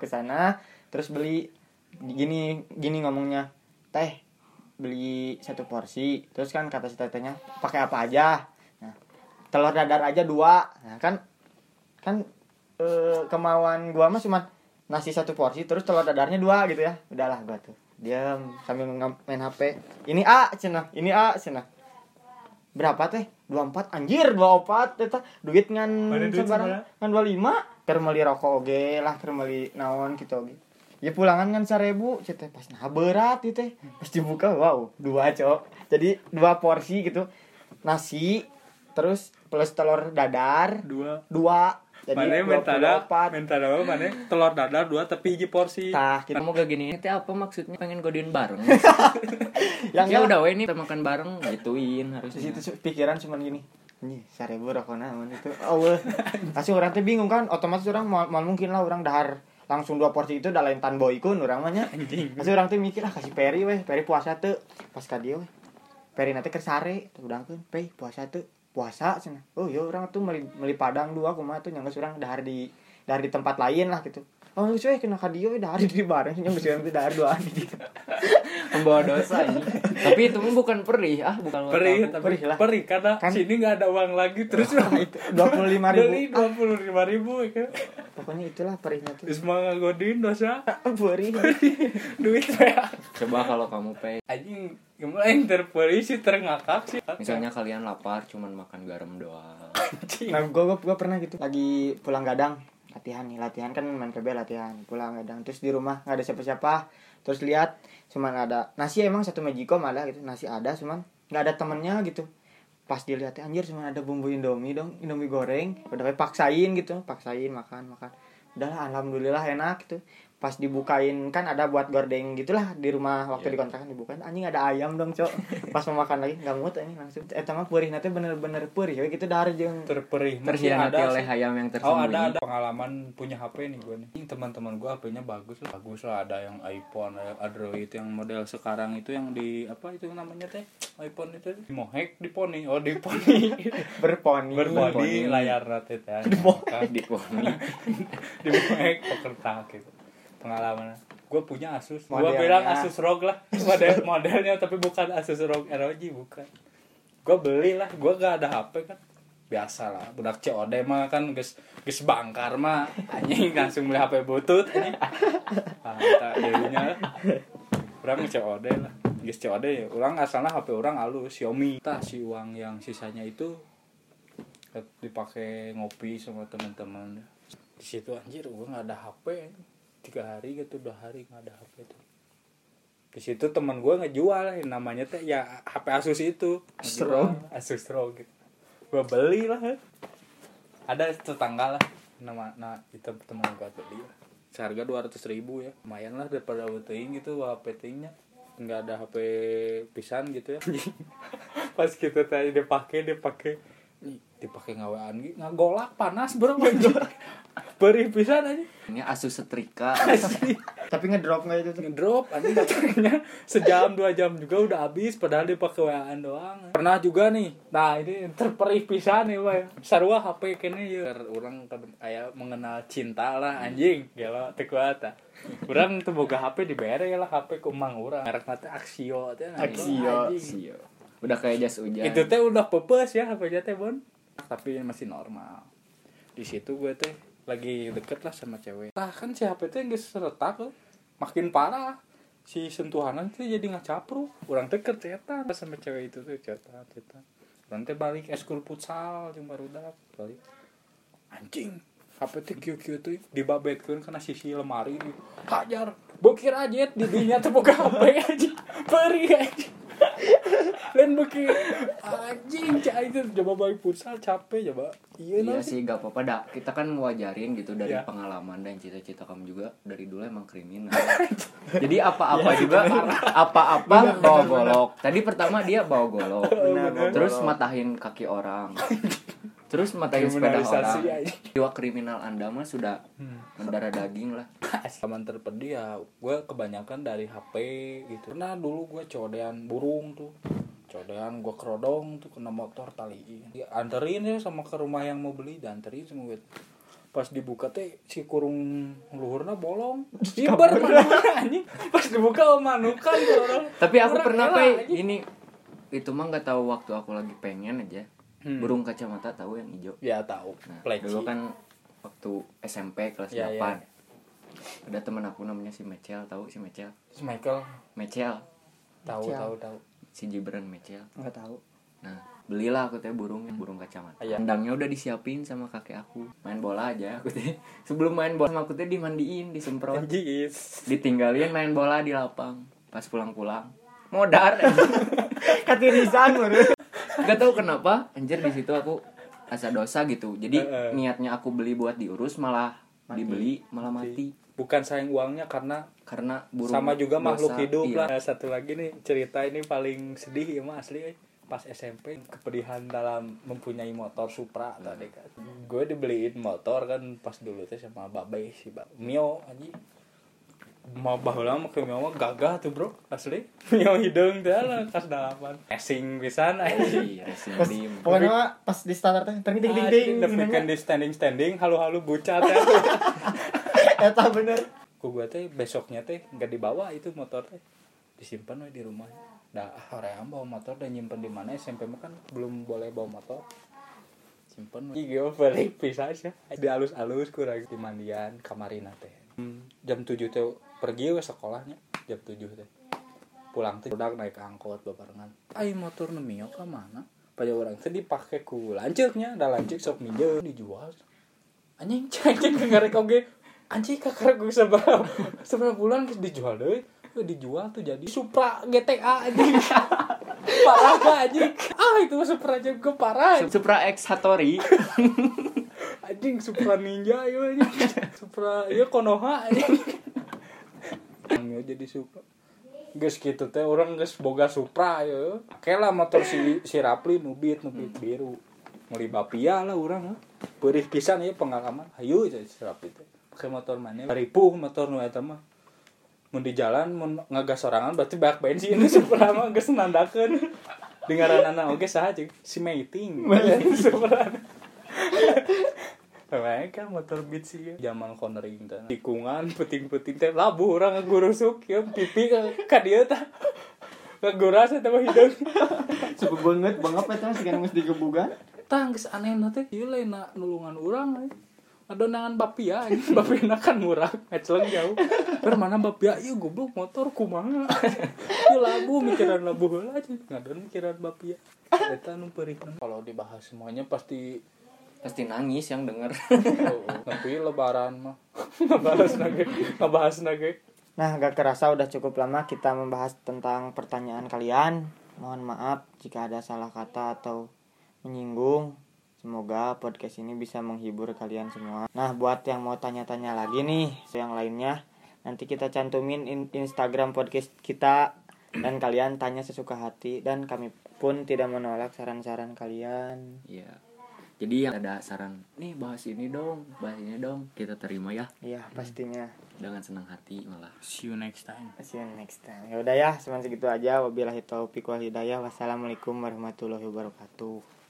ke sana terus beli gini ngomongnya, teh beli 1 porsi, terus kan kata si tetehnya pakai apa aja, nah telur dadar aja 2, nah kan kemauan gua mah cuma nasi 1 porsi terus telur dadarnya 2 gitu ya, udahlah gua tuh diam sambil main HP. Ini A cenah berapa teh 24, anjir 24 eta duit ngan sabarang ngan 25 keur meuli rokok oge lah, keur meuli naon kitu oge. Ya pulangan kan 1.000 cenah pas nah berat ieu teh. Pas dibuka wow, 2 cok. Jadi 2 porsi gitu. Nasi terus plus telur dadar 2. Jadi mana minta mana telur dadar 2 tapi hiji porsi. Tah, kita Kamu gak gini, itu apa maksudnya pengen godein bareng? yang Ya udah we ini kita makan bareng gituin harusnya. di situ pikiran cuman gini. Anjir, 1.000 rokona aman itu. Eueuh. Pasti urang teh bingung kan, otomatis urang mau mungkin lah urang dahar langsung 2 porsi itu udah lain tan boykun urang mah nya. Pasti urang teh mikir Kasih Peri we, Peri puasa teu. Pas ka dieu we. Peri nanti keur sare, udangkeun, "Pe, puasa teu." Puasa cenah. Oh iya orang tuh meli padang 2 kumaha tuh nyanggeus urang dahar di tempat lain lah gitu. Oh cuy kena ka dieu dahar di bareng nyanggeus urang teh dahar 2 di dieu. Membawa dosa ini. Tapi itu mah bukan perih, bukan Perih karena kan sini enggak ada uang lagi terus itu 25.000. 25.000 kan. Pokoknya itulah perihnya tuh. Terus mah ngagodein dosa. Perih. Duit ya. Coba kalau kamu pay. Anjing gimana yang terperih sih terngakak sih. Misalnya kalian lapar cuman makan garam doang. Nah, gua pernah gitu. Lagi pulang gadang, latihan kan main PB latihan, pulang gadang terus di rumah enggak ada siapa-siapa. Terus lihat cuman ada nasi, emang 1 Magicom ada gitu. Nasi ada cuman enggak ada temennya gitu. Pas dilihat anjir cuman ada bumbu Indomie goreng. Udah paksain makan. Udahlah alhamdulillah enak gitu. Pas dibukain kan ada buat gordeng gitulah di rumah waktu di kontrakan dibukain anjing ada ayam dong cok. Pas mau makan lagi enggak muat ini langsung eta mah peurihna teh bener-bener peurih we gitu dahar jeung terperih Terhianati oleh ayam yang tersembunyi. ada pengalaman punya HP nih gue nih. Teman-teman gue HP-nya bagus lah, ada yang iPhone, ada Android yang model sekarang itu yang di apa itu namanya teh iPhone itu di Mohawk di Pony berponi layar teh di poni di Mohawk pekerta gitu. Pengalaman gue punya Asus, gue bilang Asus ROG lah modelnya tapi bukan Asus ROG ROG bukan. Gue beli lah, gue gak ada HP kan biasa lah budak COD mah kan geus bangkar mah anjing langsung beli HP butut anjing tak dirinya urang COD lah geus COD ya urang asalna HP urang halus Xiaomi tah si uang yang sisanya itu dipakai ngopi sama teman-teman di situ anjir gue nggak ada HP 3 hari gitu 2 hari nggak ada HP tuh di situ teman gue ngejual namanya teh ya HP Asus itu Asus ROG gitu. Gue beli lah ada tetangga lah itu teman gue beli lah seharga 200.000 ya lumayan lah daripada teuing gitu HP teuingnya nggak ada HP pisan gitu ya pas kita tadi dipakai ngawaan gitu ngagolak panas bro perih pisan aja Ini Asus setrika. tapi ngedrop enggak itu ngedrop anjing katanya sejam 2 jam juga udah habis padahal dipakai WA-an doang. Pernah juga nih. Nah, ini terperih pisan nih, Pak. Sarua HP kene ye urang aya mengenal cinta lah anjing. Gelo teu kuat. Urang teu boga HP dibere lah HP ku mang urang. Merekna teh Axio teh. Axio. Udah kayak jas hujan. Itu teh udah pepes ya HP-nya teh, Bon. Tapi masih normal. Di situ gue teh lagi deket lah sama cewek. Tah kan si HP teh geus retak makin parah. Si sentuhanan teh jadi ngacapruk. Urang teh kercetan sama cewek itu tuh cetan. Urang teh balik eskul futsal jeung barudak balik. Anjing, HP teh kieu-kieu teh dibabetkeun kana sisi lemari di hajar. Bokir aja di dinya teh boga HP anjing. Perih anjing. Lain beki anjing cai itu coba balik futsal capek coba. Iya sih gak apa-apa dah. Kita kan ngewajarin gitu dari pengalaman dan cita-cita kamu juga dari dulu emang kriminal. Jadi apa-apa juga apa-apa bawa golok. Tadi pertama dia bawa golok. Terus matahin kaki orang. Terus matahin sepeda orang. Jiwa kriminal Anda mah sudah mendarah daging lah. Aman terpedih ya, gue kebanyakan dari HP gitu. Pernah dulu gue codean burung tuh. Codean gue kerodong tuh kena motor taliin. Anterin ya sama ke rumah yang mau beli, dianterin sama gue. pas dibuka teh si kurung luhurna bolong. Ibar mana anjing. Pas dibuka manukan orang. Tapi aku Orang pernah rela, kayak anjing. ini itu mah nggak tahu waktu aku lagi pengen aja. Burung kacamata tahu yang hijau. Ya tahu. Nah, Pleci. dulu kan waktu SMP kelas Ya, 8. ya. Ada teman aku namanya si Mecel, tahu si Mecel? Si Michael Mecel, tahu. si Gibran Mecel. Nggak tahu. Nah, belilah aku teh burung kacamata. Iya. Kandangnya udah disiapin sama kakek aku. Main bola aja aku teh. Sebelum main bola sama aku teh dimandiin, disemprot, Anjing. ditinggalin main bola di lapang. Pas pulang-pulang modar. Katirisan menurut. Gak tahu kenapa anjir di situ aku asa dosa gitu. Jadi niatnya aku beli buat diurus malah dibeli malah mati. Bukan sayang uangnya karena Burung sama juga makhluk dosa. hidup Iya. lah. Satu lagi nih cerita ini paling sedih ya mah asli. Pas SMP kepedihan dalam mempunyai motor Supra tadi kan. Gue dibeliin motor kan pas dulu teh sama Babe si Mio anjing. Mau baheula mah ke Mio mah gagah tuh bro asli. Mio hidung teh lah kas 8. Racing pisan anjing. Iya, racing Pas, dim. pokoknya mah pas di starter teh ting ting ting ting. Dapetkan di standing halu-halu bucat ya. Eta bener. Ku gue teh besoknya teh nggak dibawa itu motor teh disimpan we di rumah. Dah hoream bawa motor dan nyimpen di mana SMP mah kan belum boleh bawa motor. Simpen we. Iya balik pisah ya. Di alus-alus kurang di mandian kamarina teh. Jam 7 teh pergi we sekolahnya jam 7 teh. Pulang teh udah naik angkot babarengan. Ai motor nu Mio ka mana? Pada orang teh dipake ku lanceuknya, da lanceuk sok minjem dijual. Anjing cek ngarek oge. Anjing kakak gue seberapa bulan geus dijual deui. Dijual tuh jadi Supra GTA anjing. Parah gak anjing. Itu Supra aja gue parah. Supra X Hattori. Anjing Supra Ninja ieu anjing. Supra ieu Konoha anjing. Nggak jadi Supra. Geus kitu teh urang geus boga Supra ieu. Kayak lah motor si Rapli nubit biru. Meuli Bapia lah urang. Beurih pisan ieu pengalaman. Hayu si Rapli teh. Pakai motor mana? Ripuh motor nu eta mah. Mun di jalan mun ngagas sorangan berarti banyak bensin Supra mah geus nandakeun. Dengaranana oge saha cing? Si Meiting. Supra. Mereka motor beat sih zaman cornering teh. Tikungan puting-puting teh labu urang ngagurusuk ya pipi ka dieu tah. Ngaguras eta mah hideung. Cukup banget eta sih kan geus digebugan. Tah geus anehna teh ieu lainna nulungan urang. Adonangan Bapia anjing. Bapina kan murah, ngeceleng jauh. Per mana Bapia ieu goblok motor kumaha. Ieu labu mikiran labu heula aja. Ngadon mikiran Bapia. Eta nu peurihna. Kalau dibahas semuanya pasti nangis yang denger. Tapi lebaran mah ngebahas nage. Nah, gak kerasa udah cukup lama kita membahas tentang pertanyaan kalian. Mohon maaf jika ada salah kata atau menyinggung. Semoga podcast ini bisa menghibur kalian semua. Nah, buat yang mau tanya-tanya lagi nih, yang lainnya, nanti kita cantumin Instagram podcast kita dan kalian tanya sesuka hati dan kami pun tidak menolak saran-saran kalian. Iya. Jadi yang ada saran, nih bahas ini dong, kita terima ya. Iya, pastinya. Dengan senang hati malah. See you next time. See you next time. Ya udah ya, cuma segitu aja. Wabillahi taufiq wal hidayah. Wassalamualaikum warahmatullahi wabarakatuh.